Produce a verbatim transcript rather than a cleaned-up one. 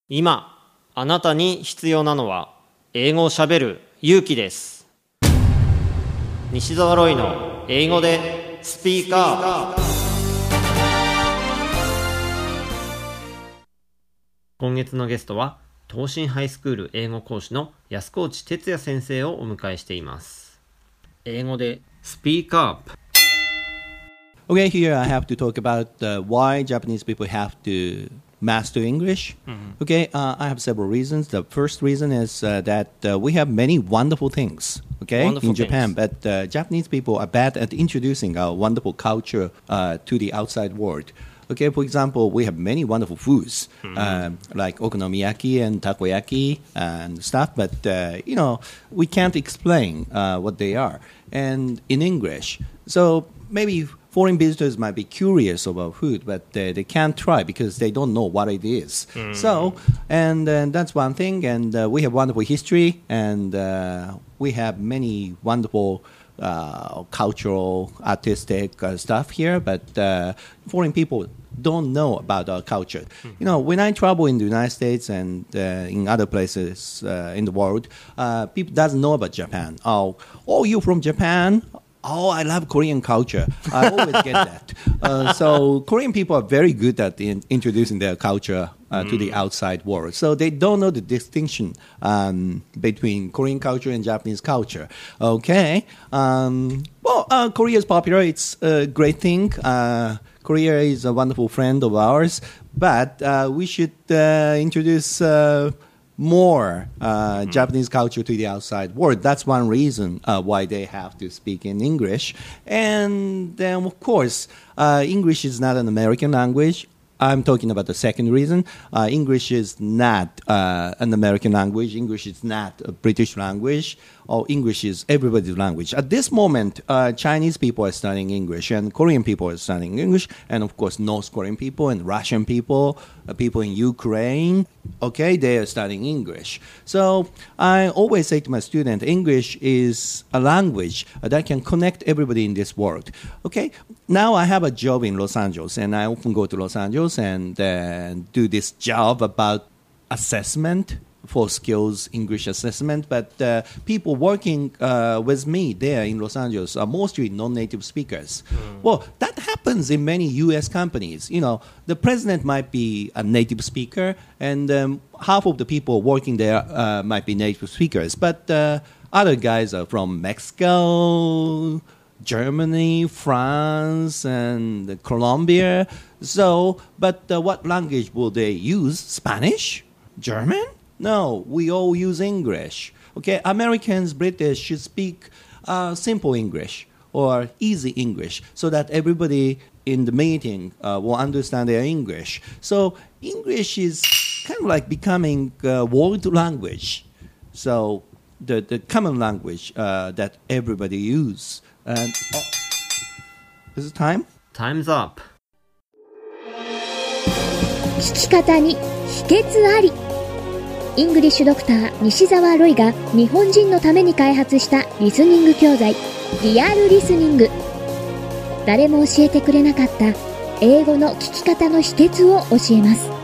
今あなたに必要なのは英語をしゃべる勇気です。西澤ロイの英語でスピーカー。今月のゲストは東進ハイスクール英語講師の安河内哲也先生をお迎えしています。英語でスピーカー。 Okay, here I have to talk about uh, why Japanese people have to master English. Mm-hmm. Okay, uh, I have several reasons. The first reason is uh, that uh, we have many wonderful things, okay, wonderful in Japan, things. but uh, Japanese people are bad at introducing our wonderful culture uh, to the outside world. Okay, for example, we have many wonderful foods, mm-hmm. uh, like okonomiyaki and takoyaki and stuff, but, uh, you know, we can't explain uh, what they are and in English. So maybe foreign visitors might be curious about food, but uh, they can't try because they don't know what it is. Mm. So, and uh, that's one thing. And uh, we have wonderful history, and uh, we have many wonderful uh, cultural, artistic uh, stuff here. But uh, foreign people don't know about our culture. Mm. You know, when I travel in the United States and uh, in other places uh, in the world, uh, people doesn't know about Japan. Oh, oh, you from Japan? Oh, I love Korean culture. I always get that. Uh, so Korean people are very good at in, introducing their culture uh, mm. to the outside world. So they don't know the distinction um, between Korean culture and Japanese culture. Okay. Um, well, uh, Korea is popular. It's a great thing. Uh, Korea is a wonderful friend of ours. But uh, we should uh, introduce Uh, more uh, mm-hmm. Japanese culture to the outside world. That's one reason uh, why they have to speak in English. And then, of course, uh, English is not an American language. I'm talking about the second reason. Uh, English is not uh, an American language. English is not a British language. Or English is everybody's language. At this moment, uh, Chinese people are studying English, and Korean people are studying English, and of course, North Korean people and Russian people, uh, people in Ukraine, okay, they are studying English. So I always say to my student, English is a language that can connect everybody in this world. Okay, now I have a job in Los Angeles, and I often go to Los Angeles and uh, do this job about assessment for skills English assessment, but uh, people working uh, with me there in Los Angeles are mostly non-native speakers. Mm. Well, that happens in many U S companies. You know, the president might be a native speaker, and um, half of the people working there uh, might be native speakers, but uh, other guys are from Mexico, Germany, France, and Colombia. So, but uh, what language will they use? Spanish? German? No, we all use English. Okay, Americans, British should speak uh, simple English or easy English so that everybody in the meeting uh, will understand their English. So English is kind of like becoming a world language. So the, the common language uh, that everybody use. And oh, is it time? Time's up. 聞き方に秘訣あり。イングリッシュドクター西澤ロイが日本人のために開発したリスニング教材リアルリスニング。誰も教えてくれなかった英語の聞き方の秘訣を教えます。